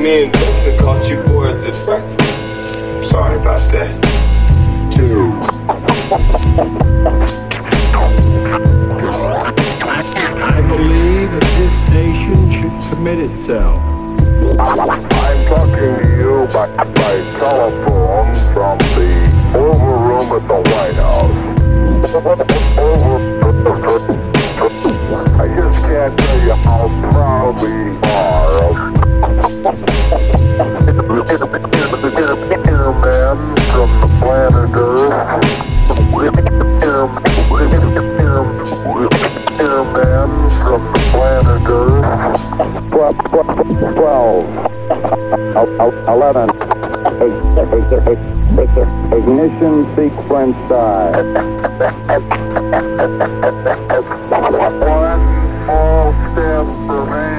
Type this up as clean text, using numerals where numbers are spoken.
me and Dixon caught you boys at breakfast. Sorry about that. 2. I believe that this nation should commit itself. I'm talking to you by telephone from the Oval Room at the White House. I just can't tell you how proud we are of airmen from the planet Earth. Airmen from the planet Earth. 12, 11, ignition sequence start. One small step for man.